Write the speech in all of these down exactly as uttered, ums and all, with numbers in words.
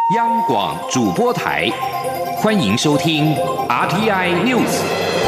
央广主播台，欢迎收听 R T I News。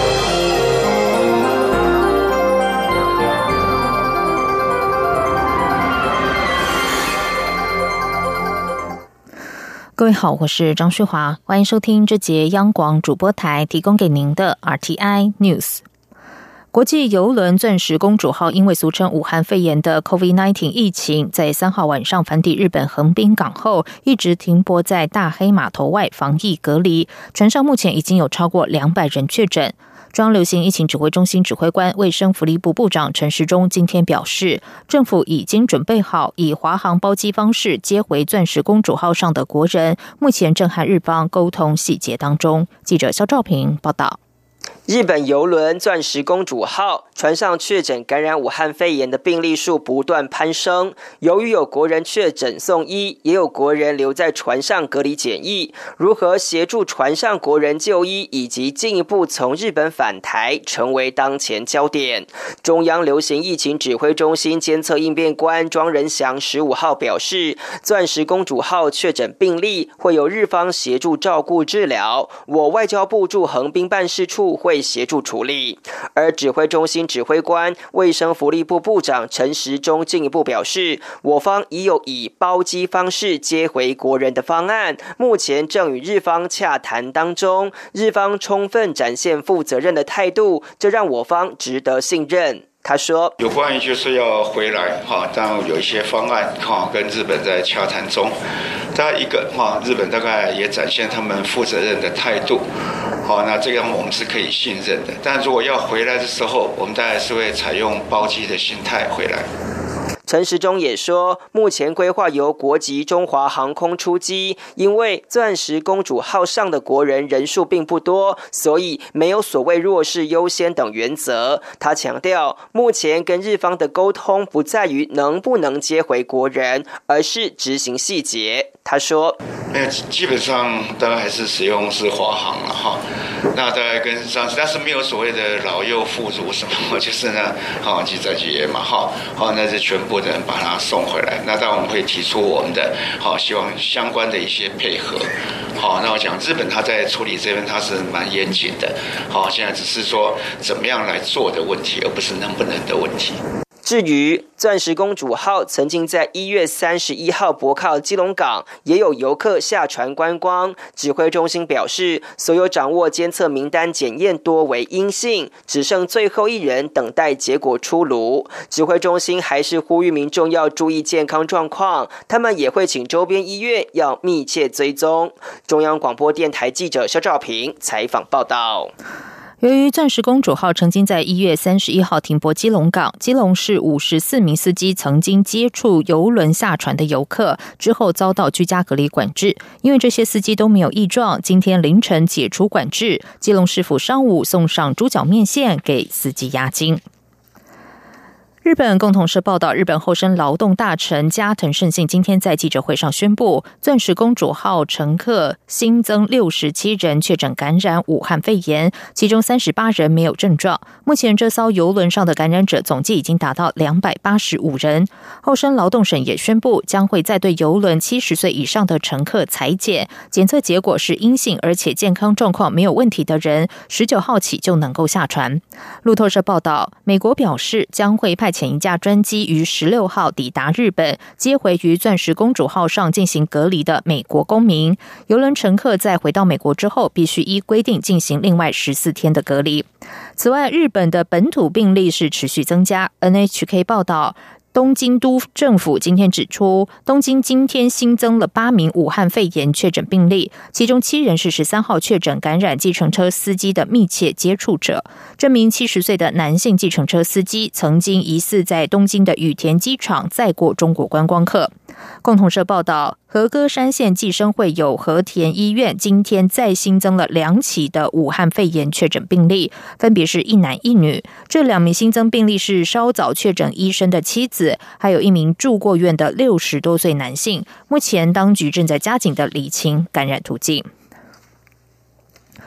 各位好，我是张旭华，欢迎收听这节央广主播台提供给您的 R T I News。国际邮轮钻石公主号因为俗称武汉肺炎的 COVID 十九 疫情，在三号晚上返抵日本横滨港后，一直停泊在大黑码头外防疫隔离。船上目前已经有超过两百人确诊。中央流行疫情指挥中心指挥官、卫生福利部部长陈时中今天表示，政府已经准备好以华航包机方式接回钻石公主号上的国人，目前正和日方沟通细节当中。记者肖兆平报道。 日本邮轮钻石公主号船上确诊感染武汉肺炎的病例数不断攀升，由于有国人确诊送医，也有国人留在船上隔离检疫，如何协助船上国人就医以及进一步从日本返台，成为当前焦点。中央流行疫情指挥中心监测应变官庄仁祥十五号表示，钻石公主号确诊病例会由日方协助照顾治疗，我外交部驻横滨办事处会协助处理。而指挥中心指挥官、卫生福利部部长陈时中进一步表示，我方已有以包机方式接回国人的方案，目前正与日方洽谈当中，日方充分展现负责任的态度，这让我方值得信任。他说， 有关于就是要回来哈，当然有一些方案哈，跟日本在洽谈中。大概一个哈，日本大概也展现他们负责任的态度，好，那这样我们是可以信任的。但如果要回来的时候，我们大概是会采用包机的心态回来。 陈时中也说，目前规划由国籍中华航空出机，因为钻石公主号上的国人人数并不多，所以没有所谓弱势优先等原则。他强调，目前跟日方的沟通不在于能不能接回国人，而是执行细节。他说， 基本上大概还是使用是华航了哈，那大概跟上次，但是没有所谓的老幼妇孺什么，就是呢，好记载节嘛哈，好那是全部的人把它送回来。那当然我们会提出我们的好，希望相关的一些配合。好，那我讲日本他在处理这边他是蛮严谨的，好，现在只是说怎么样来做的问题，而不是能不能的问题。 至于钻石公主号曾经在一月三十一号泊靠基隆港，也有游客下船观光。指挥中心表示，所有掌握监测名单检验多为阴性，只剩最后一人等待结果出炉。指挥中心还是呼吁民众要注意健康状况，他们也会请周边医院要密切追踪。中央广播电台记者肖兆平采访报道。 由于钻石公主号曾经在一月三十一号停泊基隆港，基隆市五十四名司机曾经接触邮轮下船的游客，之后遭到居家隔离管制。因为这些司机都没有异状，今天凌晨解除管制，基隆市府上午送上猪脚面线给司机押金。日本共同社报道，日本厚生劳动大臣加藤胜信今天在记者会上宣布，钻石公主号乘客新增六十七人确诊感染武汉肺炎，其中三十八人没有症状。目前这艘邮轮上的感染者总计已经达到两百八十五人。厚生劳动省也宣布，将会再对邮轮七十岁以上的乘客采检，检测结果是阴性，而且健康状况没有问题的人，十九号起就能够下船。路透社报道，美国表示将会派遣一架专机于十六号抵达日本，接回于钻石公主号上进行隔离的美国公民。邮轮乘客在回到美国之后，必须依规定进行另外十四天的隔离。此外，日本的本土病例是持续增加。N H K 报道，东京都政府今天指出，东京今天新增了八名武汉肺炎确诊病例，其中七人是十三号确诊感染计程车司机的密切接触者。这名七十岁的男性计程车司机曾经疑似在东京的羽田机场载过中国观光客。共同社报道，和歌山县计生会有和田医院今天再新增了两起的武汉肺炎确诊病例，分别是一男一女。这两名新增病例是稍早确诊医生的妻子，还有一名住过院的六十多岁男性。目前当局正在加紧的厘清感染途径。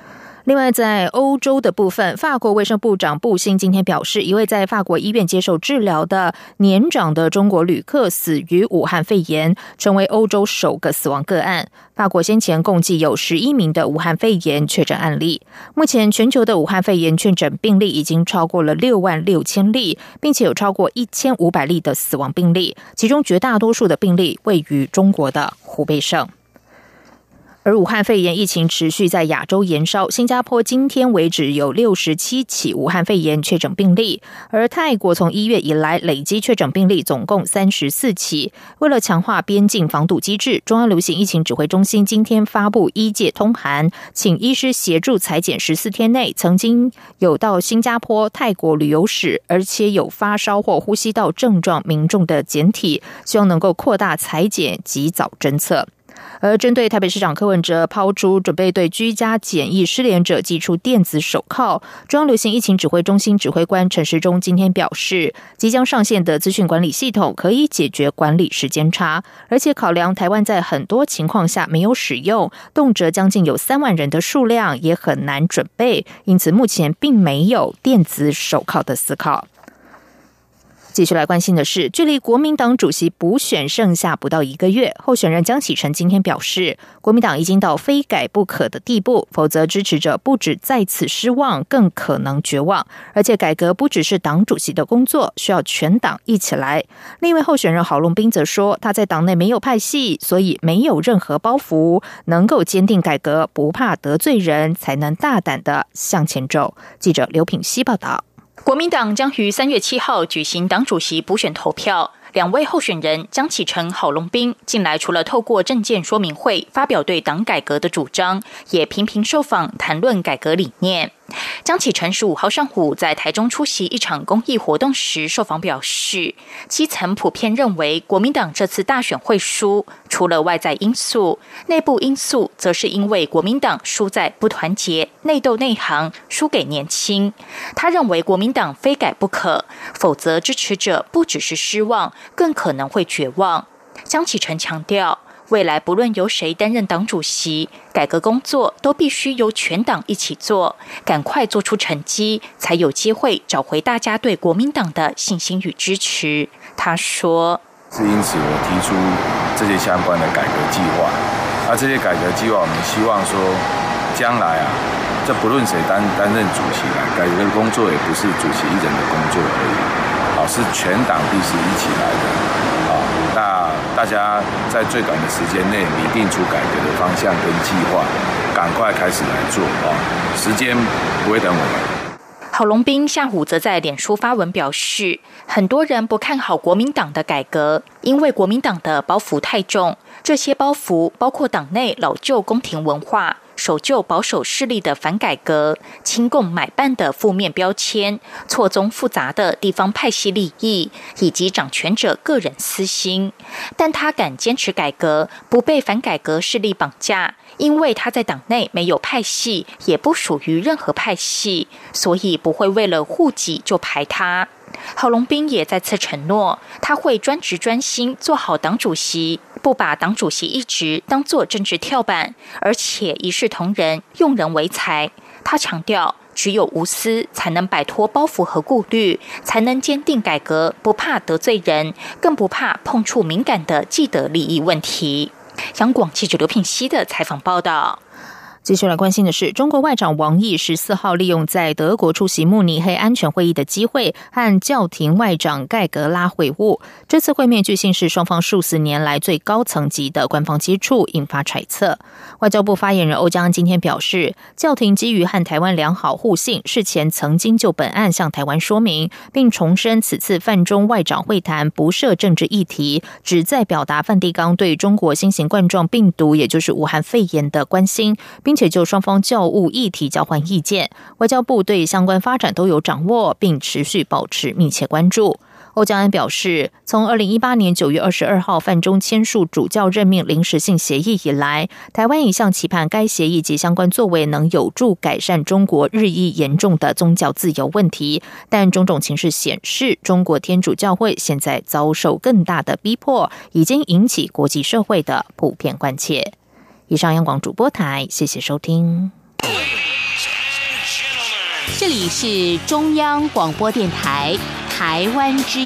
另外，在欧洲的部分，法国卫生部长布辛今天表示，一位在法国医院接受治疗的年长的中国旅客死于武汉肺炎，成为欧洲首个死亡个案。法国先前共计有十一名的武汉肺炎确诊案例。目前全球的武汉肺炎确诊病例已经超过了六万六千例，并且有超过一千五百例的死亡病例，其中绝大多数的病例位于中国的湖北省。而武汉肺炎疫情持续在亚洲延烧，新加坡今天为止有六十七起武汉肺炎确诊病例，而泰国从一月以来累积确诊病例总共三十四起。为了强化边境防堵机制，中央流行疫情指挥中心今天发布医界通函，请医师协助采检十四天内曾经有到新加坡、泰国旅游史，而且有发烧或呼吸道症状民众的检体，希望能够扩大采检及早侦测。而针对台北市长柯文哲抛出准备对居家检疫失联者寄出电子手铐，中央流行疫情指挥中心指挥官陈时中今天表示，即将上线的资讯管理系统可以解决管理时间差，而且考量台湾在很多情况下没有使用，动辄将近有三万人的数量也很难准备，因此目前并没有电子手铐的思考。继续来关心的是，距离国民党主席补选剩下不到一个月，候选人江启臣今天表示，国民党已经到非改不可的地步，否则支持者不止在此失望，更可能绝望。而且改革不只是党主席的工作，需要全党一起来。另一位候选人郝龙斌则说，他在党内没有派系，所以没有任何包袱，能够坚定改革，不怕得罪人，才能大胆的向前走。记者刘品希报道。 国民党将于三月七号举行党主席补选投票，两位候选人江启臣、郝龙斌近来除了透过政见说明会发表对党改革的主张，也频频受访谈论改革理念。江启臣十五号上午在台中出席一场公益活动时受访表示，基层普遍认为国民党这次大选会输，除了外在因素，内部因素则是因为国民党输在不团结、内斗内行，输给年轻。他认为国民党非改不可，否则支持者不只是失望，更可能会绝望。江启臣强调，未来不论由谁担任党主席，改革工作都必须由全党一起做，赶快做出成绩，才有机会找回大家对国民党的信心与支持。他说， 是因此我提出这些相关的改革计划。那这些改革计划，我们希望说，将来啊，这不论谁担担任主席啊，改革工作也不是主席一人的工作而已，好，是全党必须一起来的。好，那大家在最短的时间内拟定出改革的方向跟计划，赶快开始来做啊！时间不会等我们。 郝龙斌下午则在脸书发文表示，很多人不看好国民党的改革，因为国民党的包袱太重，这些包袱包括党内老旧宫廷文化、守旧保守势力的反改革、亲共买办的负面标签、错综复杂的地方派系利益，以及掌权者个人私心。但他敢坚持改革，不被反改革势力绑架，因为他在党内没有派系，也不属于任何派系，所以不会为了护己就排他。郝龙斌也再次承诺，他会专职专心做好党主席，不把党主席一职当作政治跳板，而且一视同仁，用人为才。他强调，只有无私才能摆脱包袱和顾虑，才能坚定改革，不怕得罪人，更不怕碰触敏感的既得利益问题。央广记者刘品希的采访报道。 继续来关心的是，中国外长王毅十四号利用在德国出席慕尼黑安全会议的机会，和教廷外长盖格拉会晤。这次会面据信是双方数十年来最高层级的官方接触，引发揣测。外交部发言人欧江安今天表示，教廷基于和台湾良好互信，事前曾经就本案向台湾说明，并重申此次泛中外长会谈不涉政治议题，旨在表达梵蒂冈对中国新型冠状病毒，也就是武汉肺炎的关心，并并且就双方教务议题交换意见，外交部对相关发展都有掌握，并持续保持密切关注。欧江安表示，从二零一八年九月二十二号梵中签署主教任命临时性协议以来，台湾一向期盼该协议及相关作为能有助改善中国日益严重的宗教自由问题，但种种情势显示，中国天主教会现在遭受更大的逼迫，已经引起国际社会的普遍关切。以上央广主播台，谢谢收听。 这里是中央广播电台台湾之